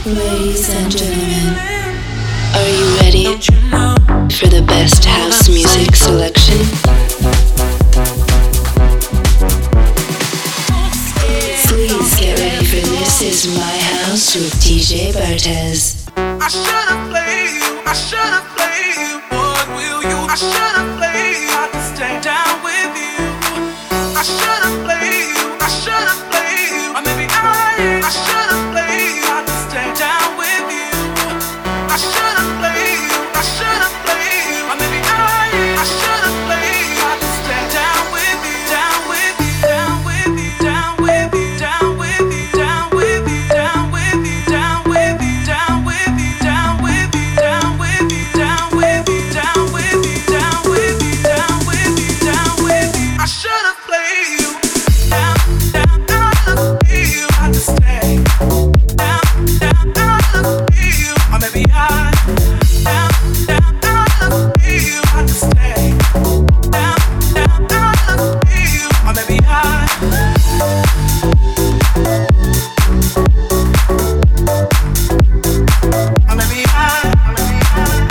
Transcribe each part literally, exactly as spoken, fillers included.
Ladies and gentlemen, are you ready for the best house music selection? Please get ready for This Is My House with D J Bartez. I should've played you, I should've played you, what will you? I should've played you, I can stay down with you. I should've played you, I should've played you, or maybe I, I should've played you, I can stay down with you. I should've played you, I should've played you, or maybe I, I should've played you, I can stay down with you, down with you, down with you, down with you, down with you, down with you, down with you, down with you, down with you, down with you, down with you, down with you, down with you, down with you, down with you, down with you. I should've played you, down, down, down, you, I had to stay, down, down, down, you, or maybe I, down, down, down, you, I had to stay, down, down, down, you, or maybe I. Or maybe I, or maybe I.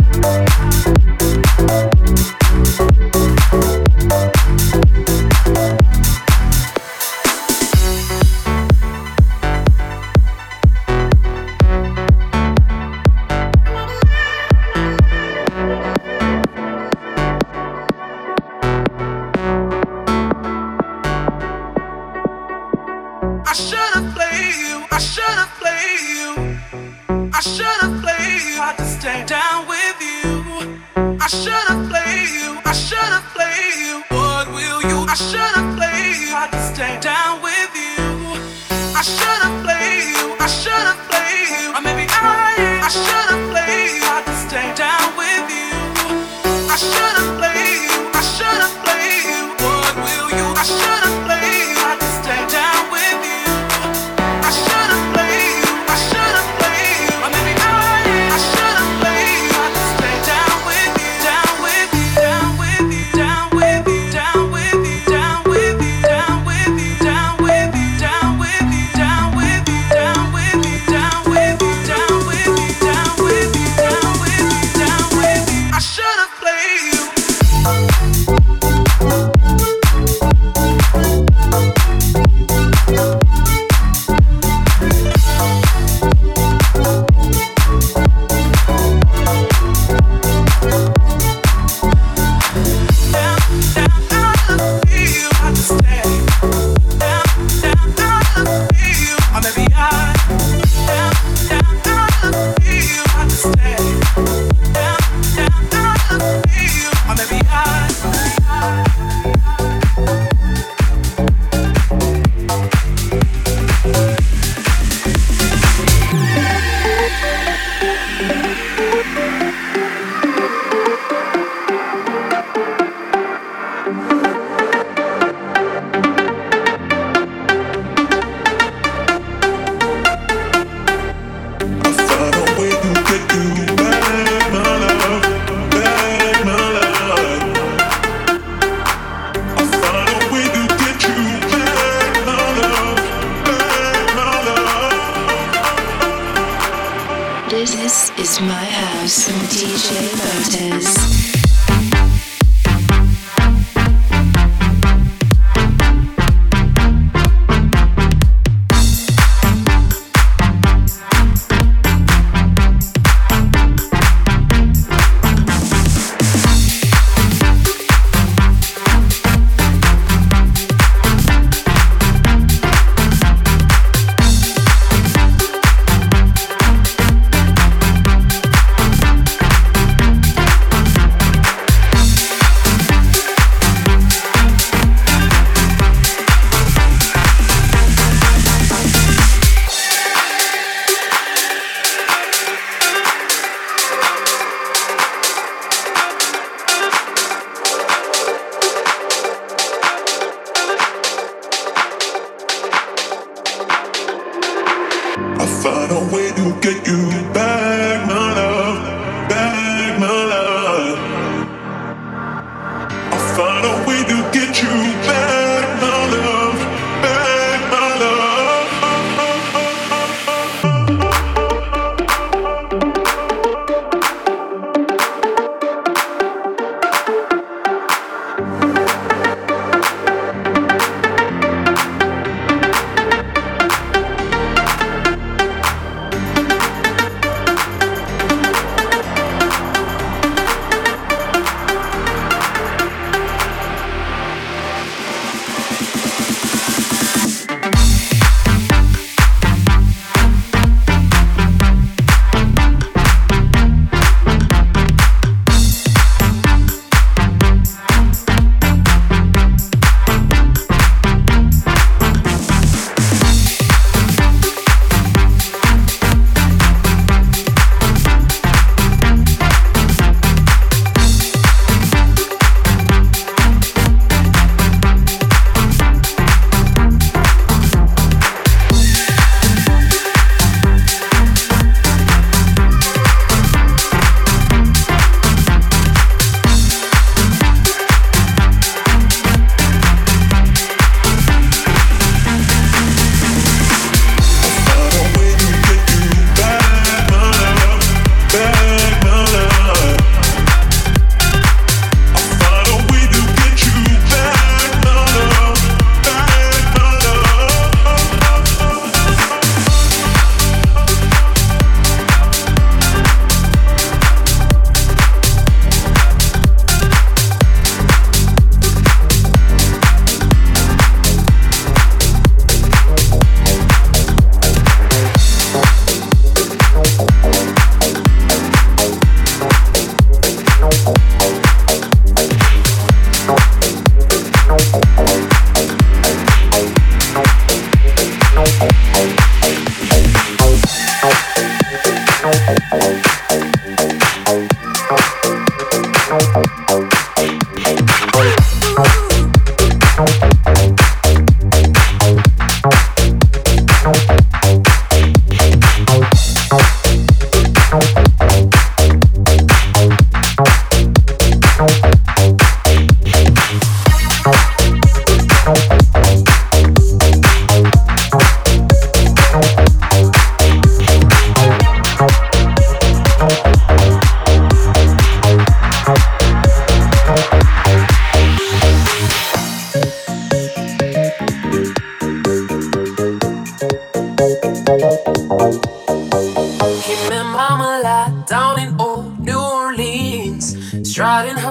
I should've played you, I should've played you, I should've played you, I had to stay down with you. I should've played you, I should've played you, what will you? I should've played you, I had to stay down with you. I should've played you, I should've played you, or maybe I, I should've played you, I had to stay down with you. I should've played you, I should've played you, what will you? I should've played you, I had to stay down with you. I should've played you, I should've played you, or maybe I, I should've played you, I had to stay down with you, down with you, down with you, down with you, down with you, down with you, down with you, down with you, down with you, down with you, down with you, down with you, down with you, down with you, down with you, down with you. I should've played you. This is My House with D J Bartez.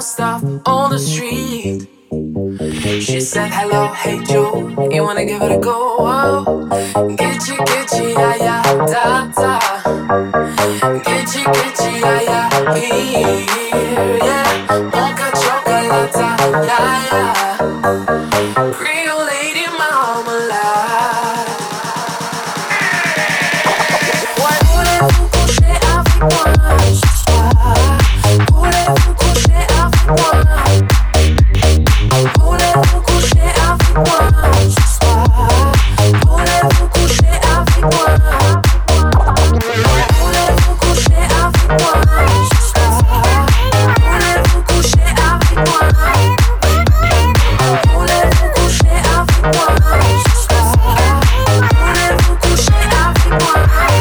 stop on the street. She said, hello, hey Joe, you wanna give it a go? Oh, Gitchy, gitchy, yeah, yeah, da, da. Gitchy, gitchy, yeah, yeah, here, yeah. Mocha chocolate, yeah, yeah. Creole lady marmalade. Voulez-vous coucher avec moi ce soir? Voulez-vous coucher avec moi? Voulez-vous coucher avec moi ce soir? Voulez-vous coucher avec moi? Voulez-vous coucher avec moi ce soir? Voulez-vous coucher avec moi? Voulez-vous coucher avec moi ce soir? Voulez-vous coucher avec moi?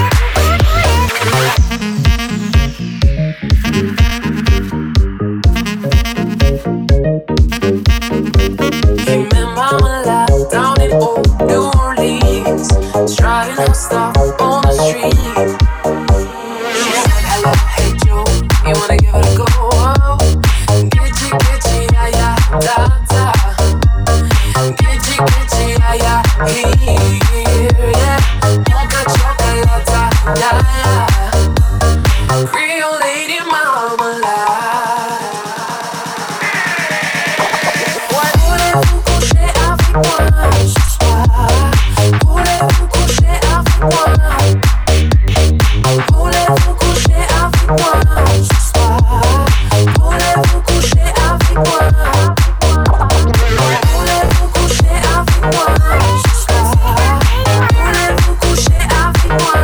Down in old New Orleans, striding her stuff on the street. She said, hello, hey Joe, you wanna give it a go? Oh, Gitchy, gitchy, yeah, yeah, da, da. Gitchy, gitchy, yeah, yeah, here, yeah. Mocha chocolate, yeah, yeah. Creole lady marmalade. Voulez-vous coucher avec moi ce soir? Voulez-vous coucher avec moi? Voulez-vous coucher avec moi ce soir? Voulez-vous coucher avec moi? Voulez-vous coucher avec moi ce soir? Voulez-vous coucher avec moi?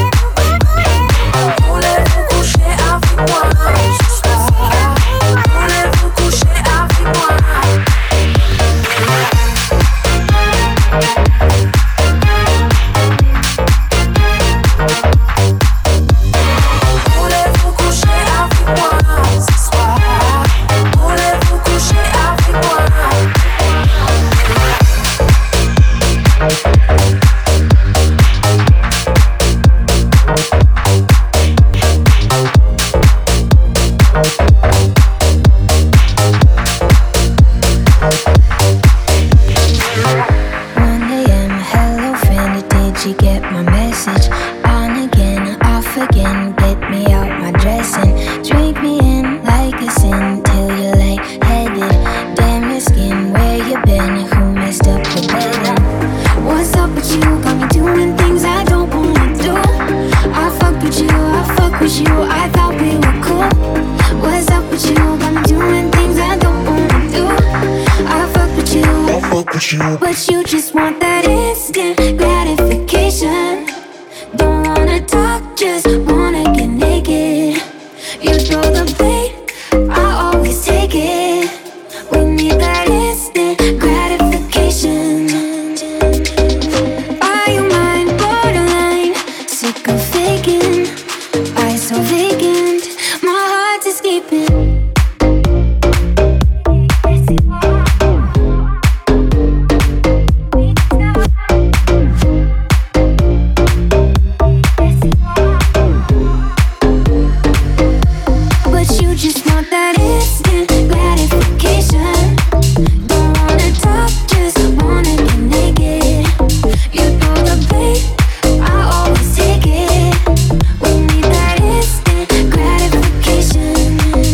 Voulez-vous coucher avec moi ce soir? Voulez-vous coucher avec moi? Voulez-vous coucher avec moi ce soir? Voulez-vous coucher avec moi? one a.m. Hello friend, did you get my message? On again, off again, get me out my dressing. Drink me in like a sin till you're lightheaded. Damn your skin, where you been? Who messed up the bedding? What's up with you? Got me doing things I don't wanna do. I fuck with you, I fuck with you, I thought we were cool. What's up with you? Got me doing things I don't wanna do. I fuck with you, I fuck with you. but you just want that instant gratification. Don't wanna talk, just wanna get naked. You throw the bait, I always take it. We need that instant gratification. Are you mine? Borderline, sick of faking. Eyes so vacant, my heart's escaping. But you just want that instant gratification. Don't wanna talk, just wanna get naked. You throw the bait, I always take it. We need that instant gratification.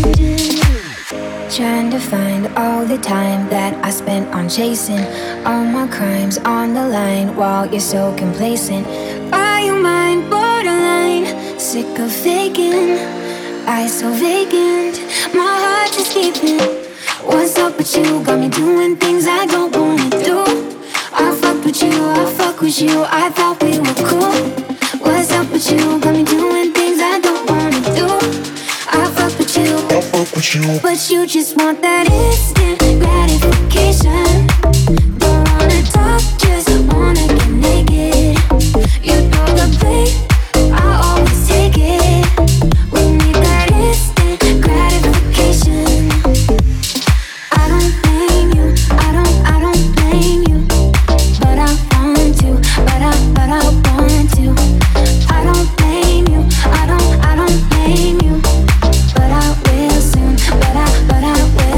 Trying to find all the time that I spent on chasing all my crimes on the line while you're so complacent. Are you mine? Borderline, sick of faking. Eyes so vacant, my heart just keeping. What's up with you? Got me doing things I don't wanna do. I fuck with you, I fuck with you, I thought we were cool. What's up with you? Got me doing things I don't wanna do. I fuck with you, I fuck with you. but you just want that instant gratification. Don't wanna talk, just wanna get naked. You throw the bait, I always take it. We need that instant gratification. I don't blame you, I don't, I don't blame you. But I want to, but I, but I want to. I don't blame you, I don't, I don't blame you. But I will soon, but I, but I will.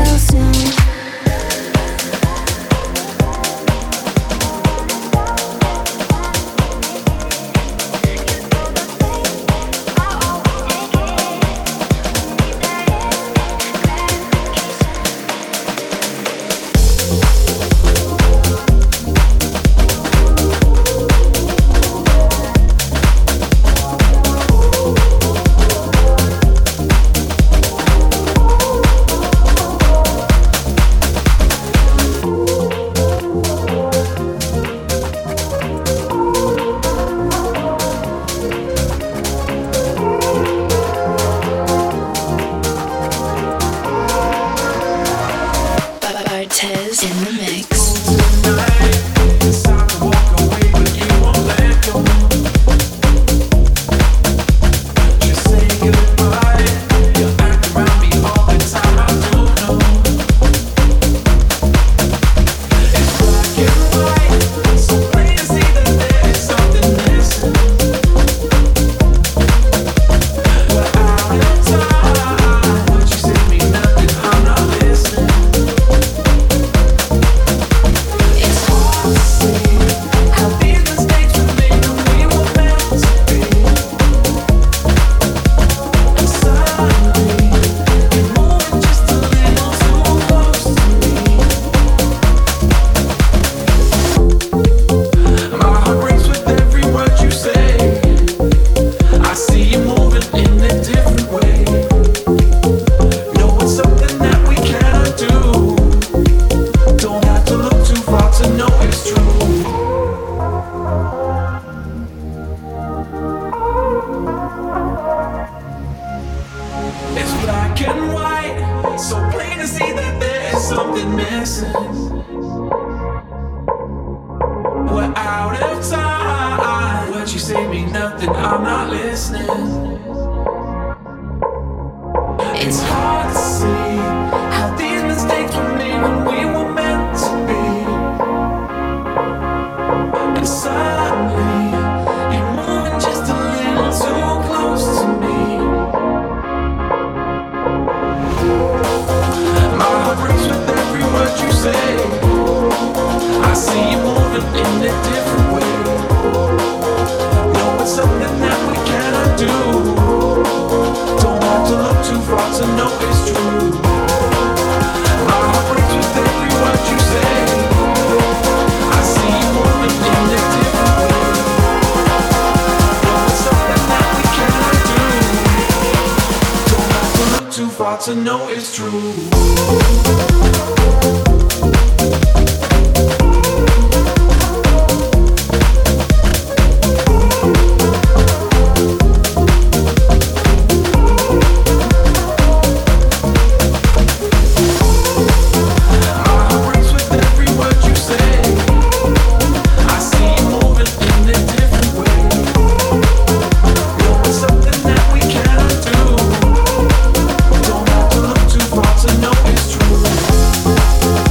So plain to see that there's something missing. We're out of time. What you say mean nothing, I'm not listening. It's hard to see how these mistakes were made when we were meant to be. And suddenly, you're moving just a little too close to me. My heart breaks with every word you say. I see you moving in a different way. No, it's something that we cannot do. Don't have to look too far to know it's true. My heart breaks with every word you say. I see you moving in a different way. No, it's something that we cannot do. Don't have to look too far to know it's true. True.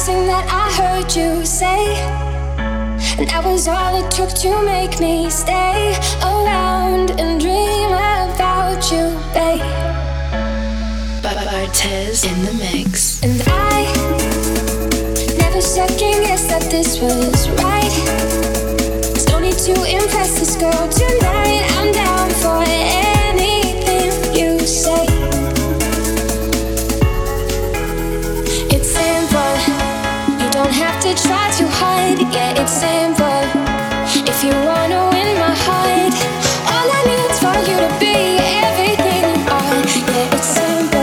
last thing that I heard you say. And that was all it took to make me stay around and dream about you, babe. Bartez in the mix. And I never second guessed that this was right. There's no need to impress this girl tonight. I'm down for anything you say. It's simple. You don't have to try to hide. Yeah, it's simple. If you wanna win my heart, all I need is for you to be everything you are. Yeah, it's simple.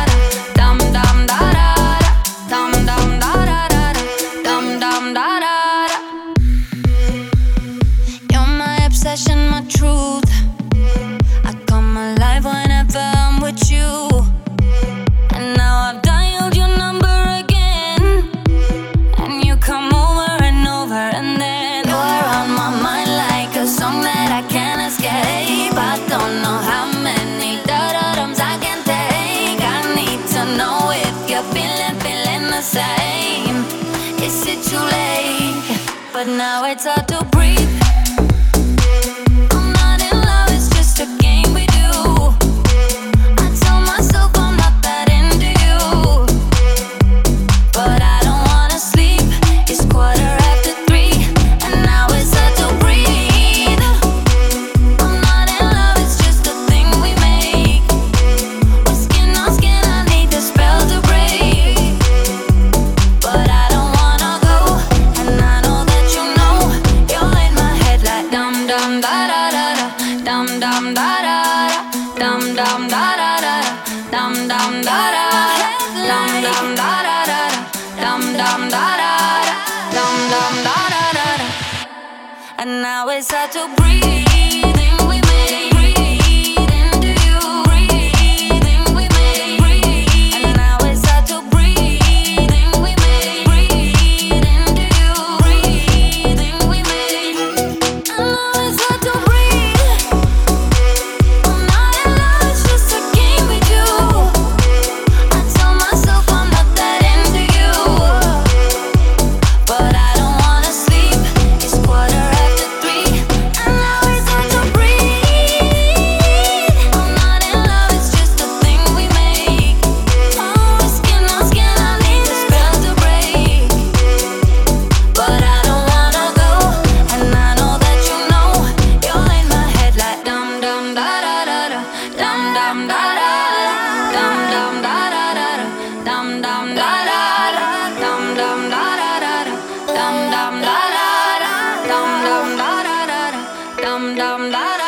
Da da same. Is it too late? But now it's hard to breathe. I'm not in love, it's just a game we do. I tell myself I'm not that into you, but I don't wanna sleep. It's quarter after three, and now it's hard to breathe. I'm not in love, it's just a thing we make. We're skin on skin, I need the spell to break, but I don't wanna go, and I know that you know. You're in my head like dum dum da da da da, dum dum da da da, dum dum da da da, dum dum da da, dum dum da da da, dum dum da da, dum dum da da da. And now it's hard to breathe. We make breathe into you. Breathing we make breathe. And now it's hard to breathe. We make breathe into you. Breathing we make. And now it's hard to breathe. I'm not in love, it's just a game we do. I tell myself I'm not that into you, but I don't wanna sleep. It's quarter after three, and now it's hard to breathe. I'm not in love, it's just a thing we make. Oh, skin on skin, I need the spell to break, but I don't wanna go, and I know that you know. You're in my head like dum dum da da da da, dum dum da da da, dum dum da da da da, dum dum da da da, dum dum da da da da, dum dum da da da, dum dum da da da da, dum dum da da da.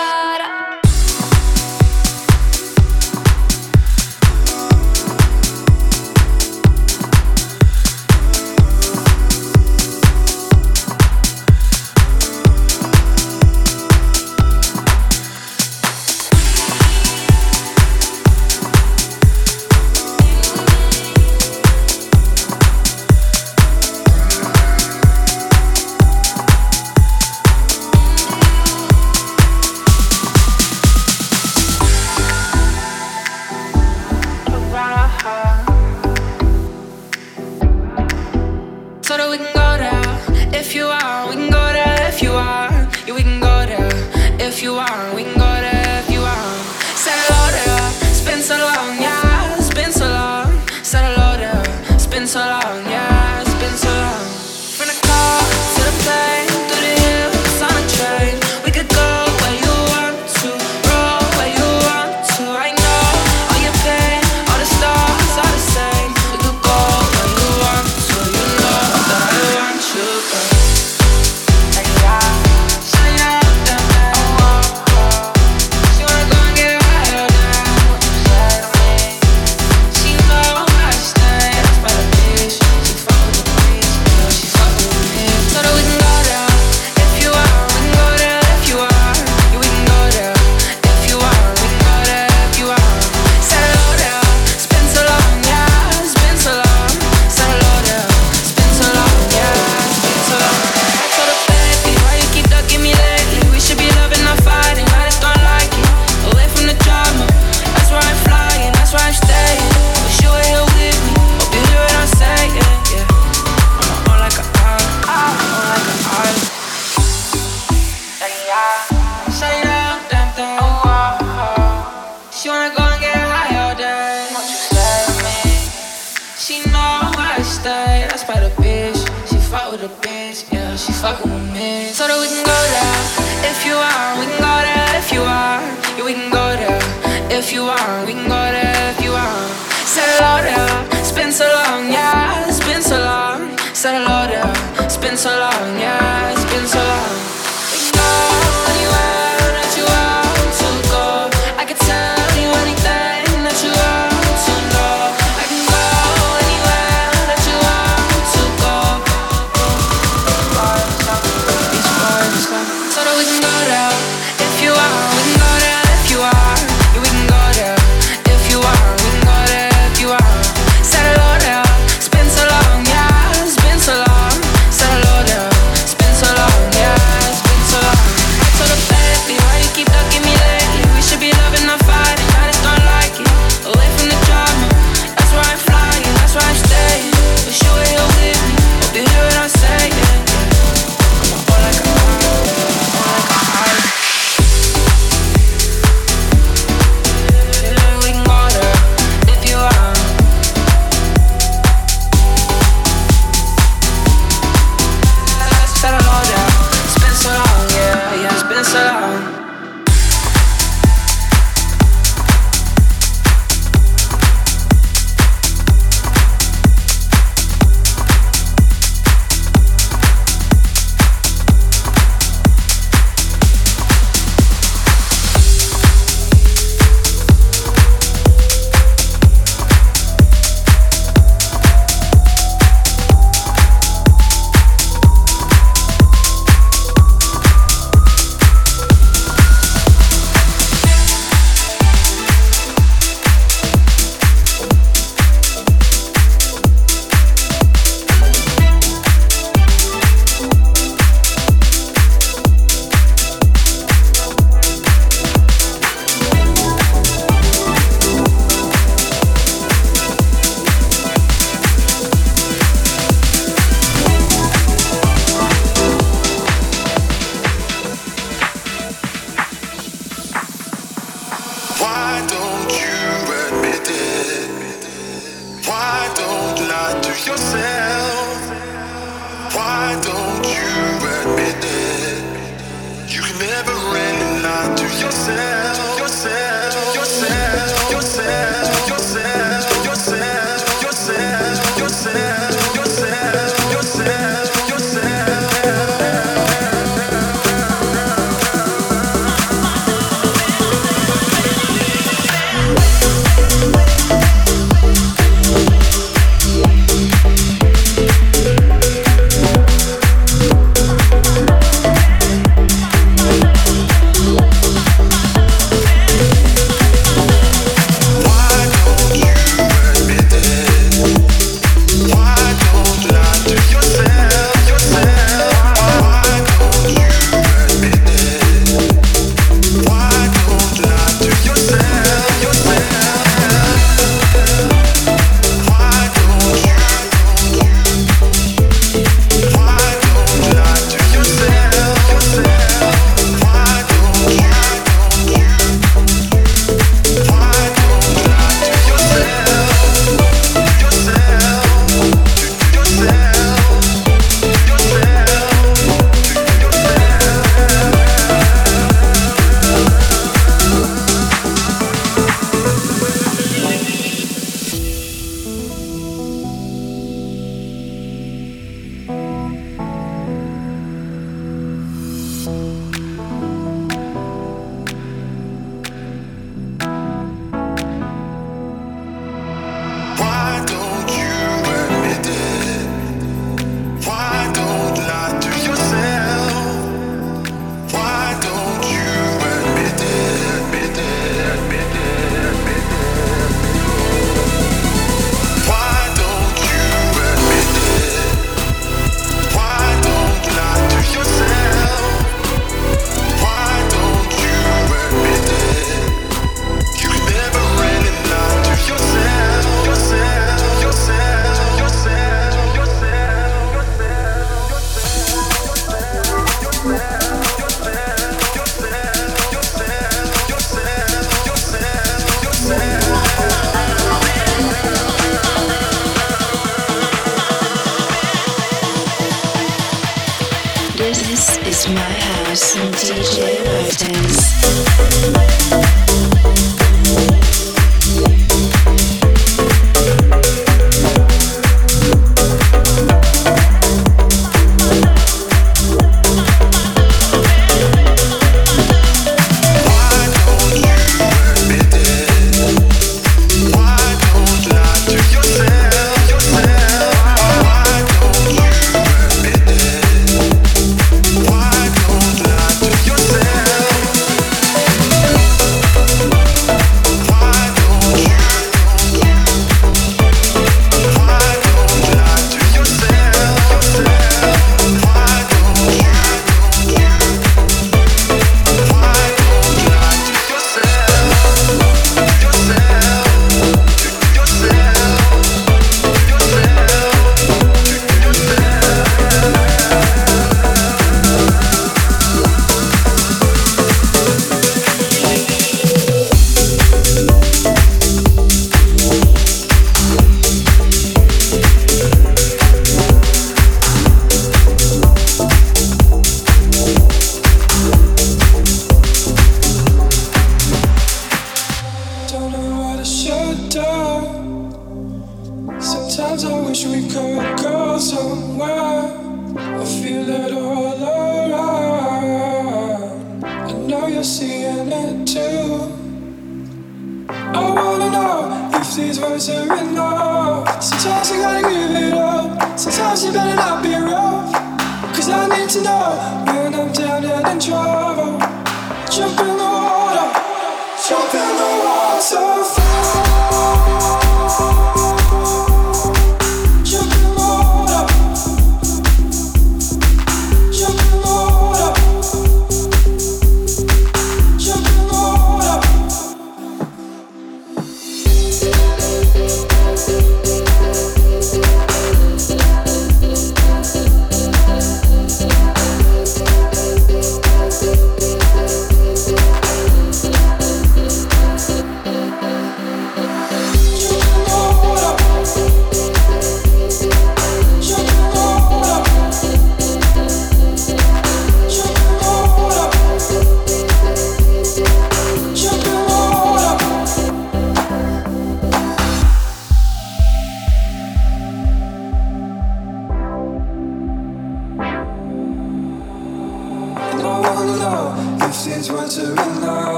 So that we can go there if you are. We can go there if you are. Yeah, we can go there if you are. We can go there if you are. Said hello there. It's been so long, yeah. It's been so long. Said hello there. It's been so long, yeah. It's been so long. From the car to the plane, through the hills on a train. We could go where you want to, roll where you want to. I know all your pain, all the stars are the same. We could go where you want to. You know that I want you, girl. Hey, yeah. Shine out, down, down. Oh, oh, oh. She wanna go and get higher than what you said to me. She know I stay. That's by the bitch. She fuck with the bitch. Yeah, she fuck with me. So that we can go there if you are. We can go there if you are. Yeah, we can go there if you are. We can go there if you are. Said hello there. It's been so long, yeah. It's been so long. Said hello there. It's been so long, yeah. It's been so long. I told her, baby, why you keep ducking me lately? We should be loving, not fighting. I just don't like it. Away from the drama. That's why I'm flying. That's why I'm staying. Wish you were here with me. Hope you hear what I'm saying. Yeah. I'm on like a eye. I'm on like a eye. Shut it down, damn thing. Oh, oh, oh. She wanna go and get high all day. What you say to me? She know I stay. That's by the bitch. She fuck with the bitch. Yeah, she fucking with me. So that we can go there if you are. We can go there if you are. Yeah, we can go there if you are. We can go there if you are. Said hello there. It's been so long, yeah. It's been so long. Said hello there. It's been so long, yeah. It's been so long. We can go anywhere that you want to go. I can tell you anything that you want to know. I can go anywhere that you want to go. Beach boys, so that we can go there if you are. We can go there if you are. Yeah, we can go there if you are. We can go there if you are. Said hello there. It's been so long, yeah. It's been so long. Said hello there. It's been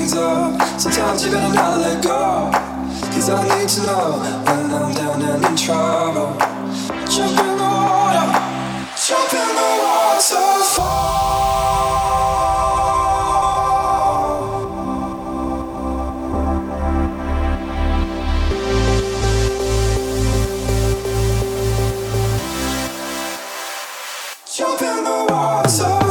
things up. Sometimes you better not let go. Cause I need to know when I'm down and in trouble. Jump in the water, jump in the waterfall. Jump in the waterfall.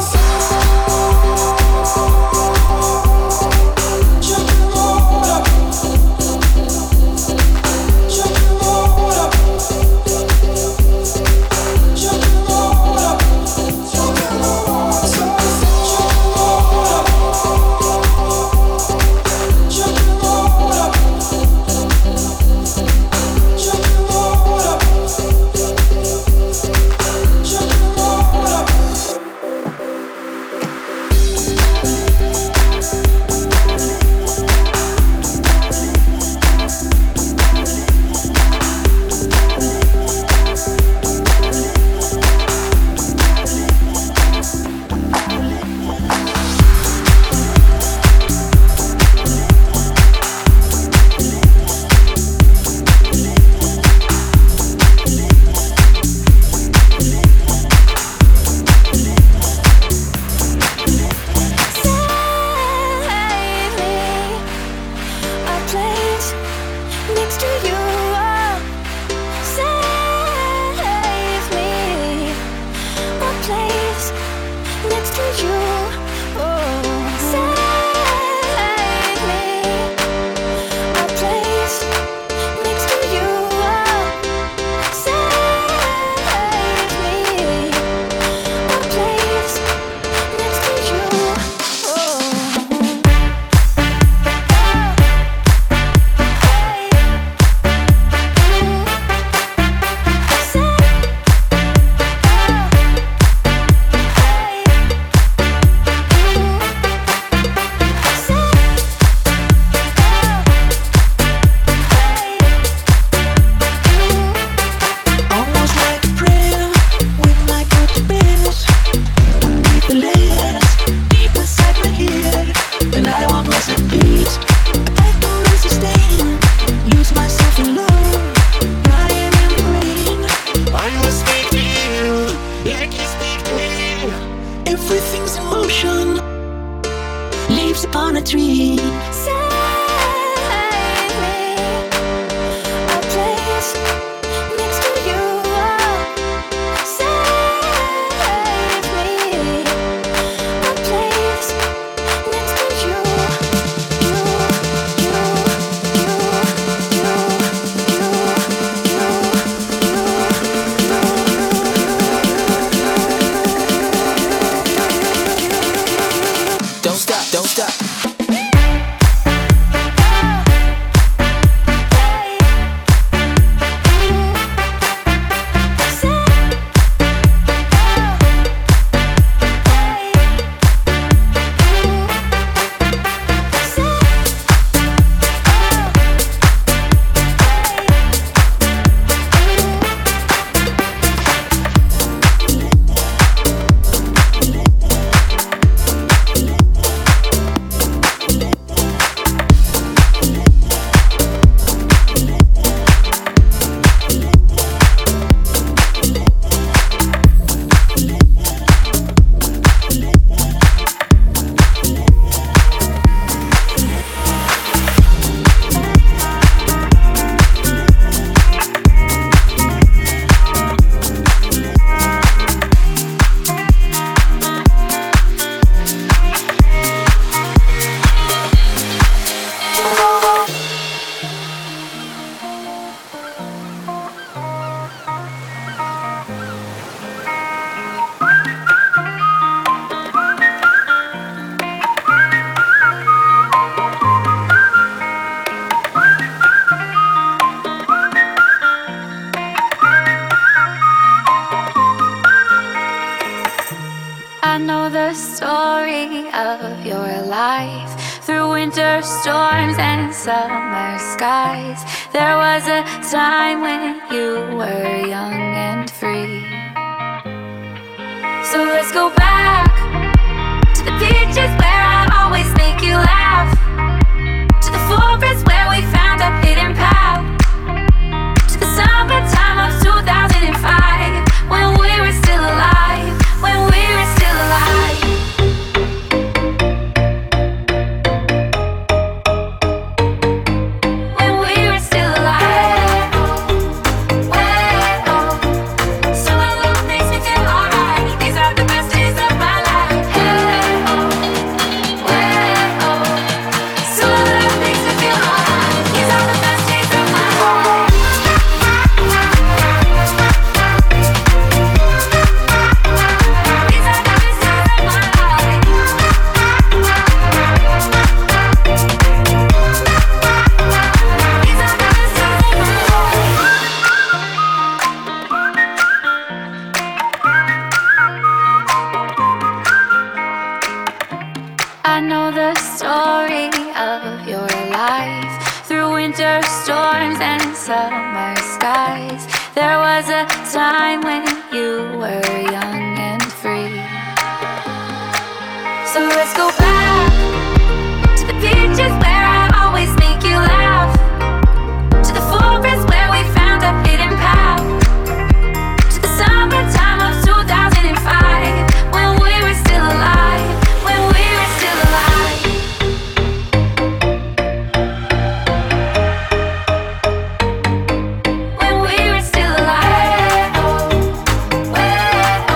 of your life. Through winter storms and summer skies, there was a time when you were young and free. So let's go back to the beaches where I always make you laugh. winter storms and summer skies. There was a time when you were young and free. So let's go back to the beaches where I always make you laugh, to the forest where we found a hidden path, to the summertime of two thousand five, when we were still alive, when we were still alive. When we were still alive. When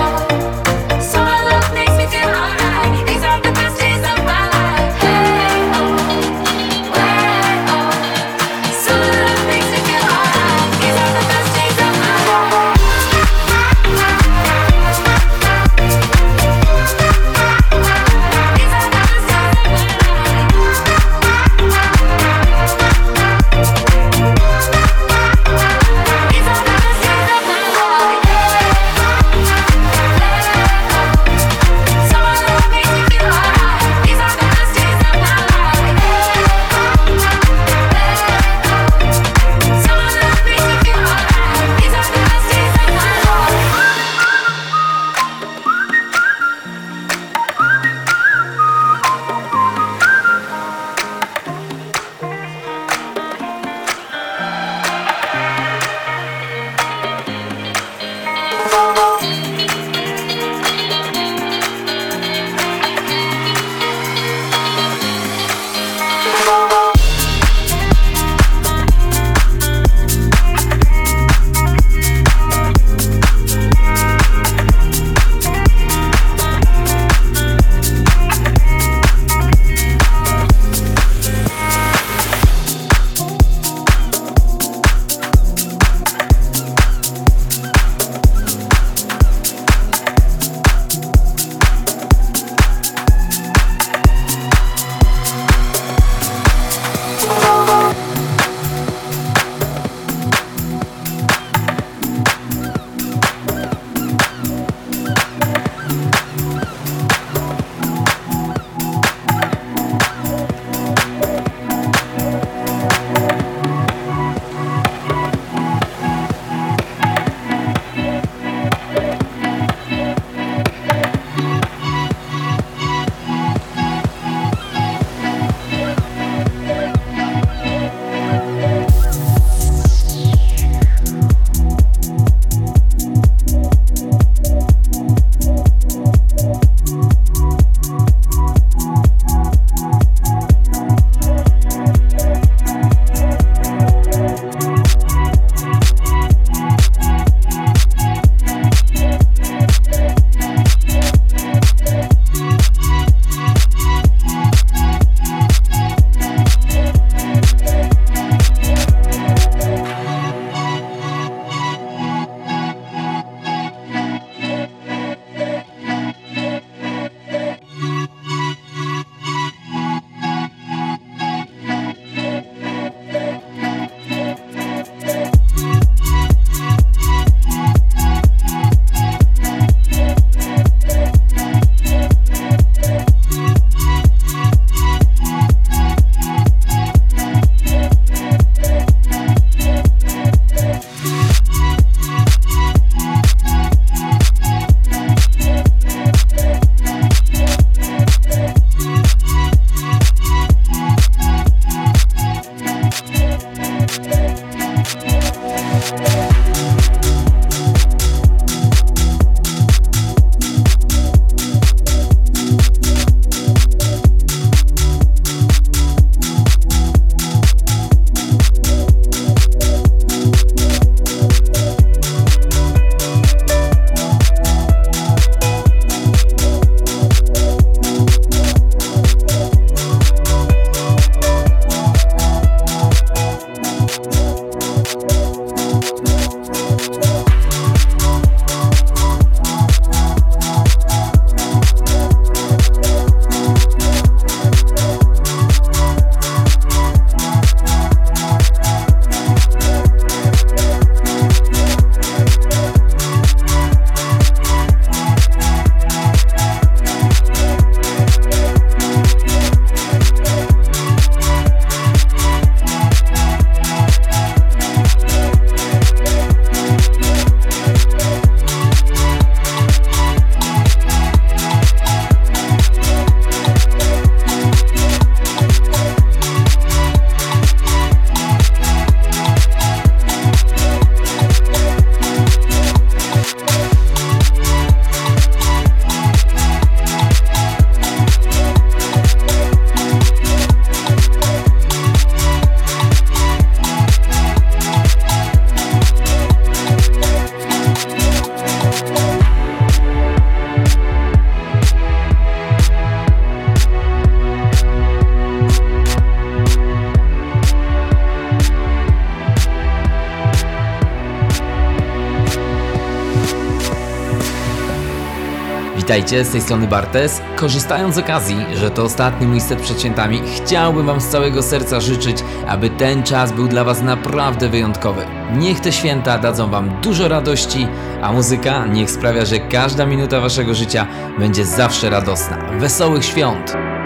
Witajcie, z tej strony Bartes. Korzystając z okazji, że to ostatni mój set przed świętami, chciałbym Wam z całego serca życzyć, aby ten czas był dla Was naprawdę wyjątkowy. Niech te święta dadzą Wam dużo radości, a muzyka niech sprawia, że każda minuta Waszego życia będzie zawsze radosna. Wesołych świąt!